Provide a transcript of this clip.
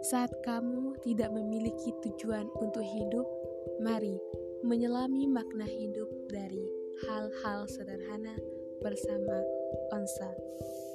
Saat kamu tidak memiliki tujuan untuk hidup, mari menyelami makna hidup dari hal-hal sederhana bersama Onsa.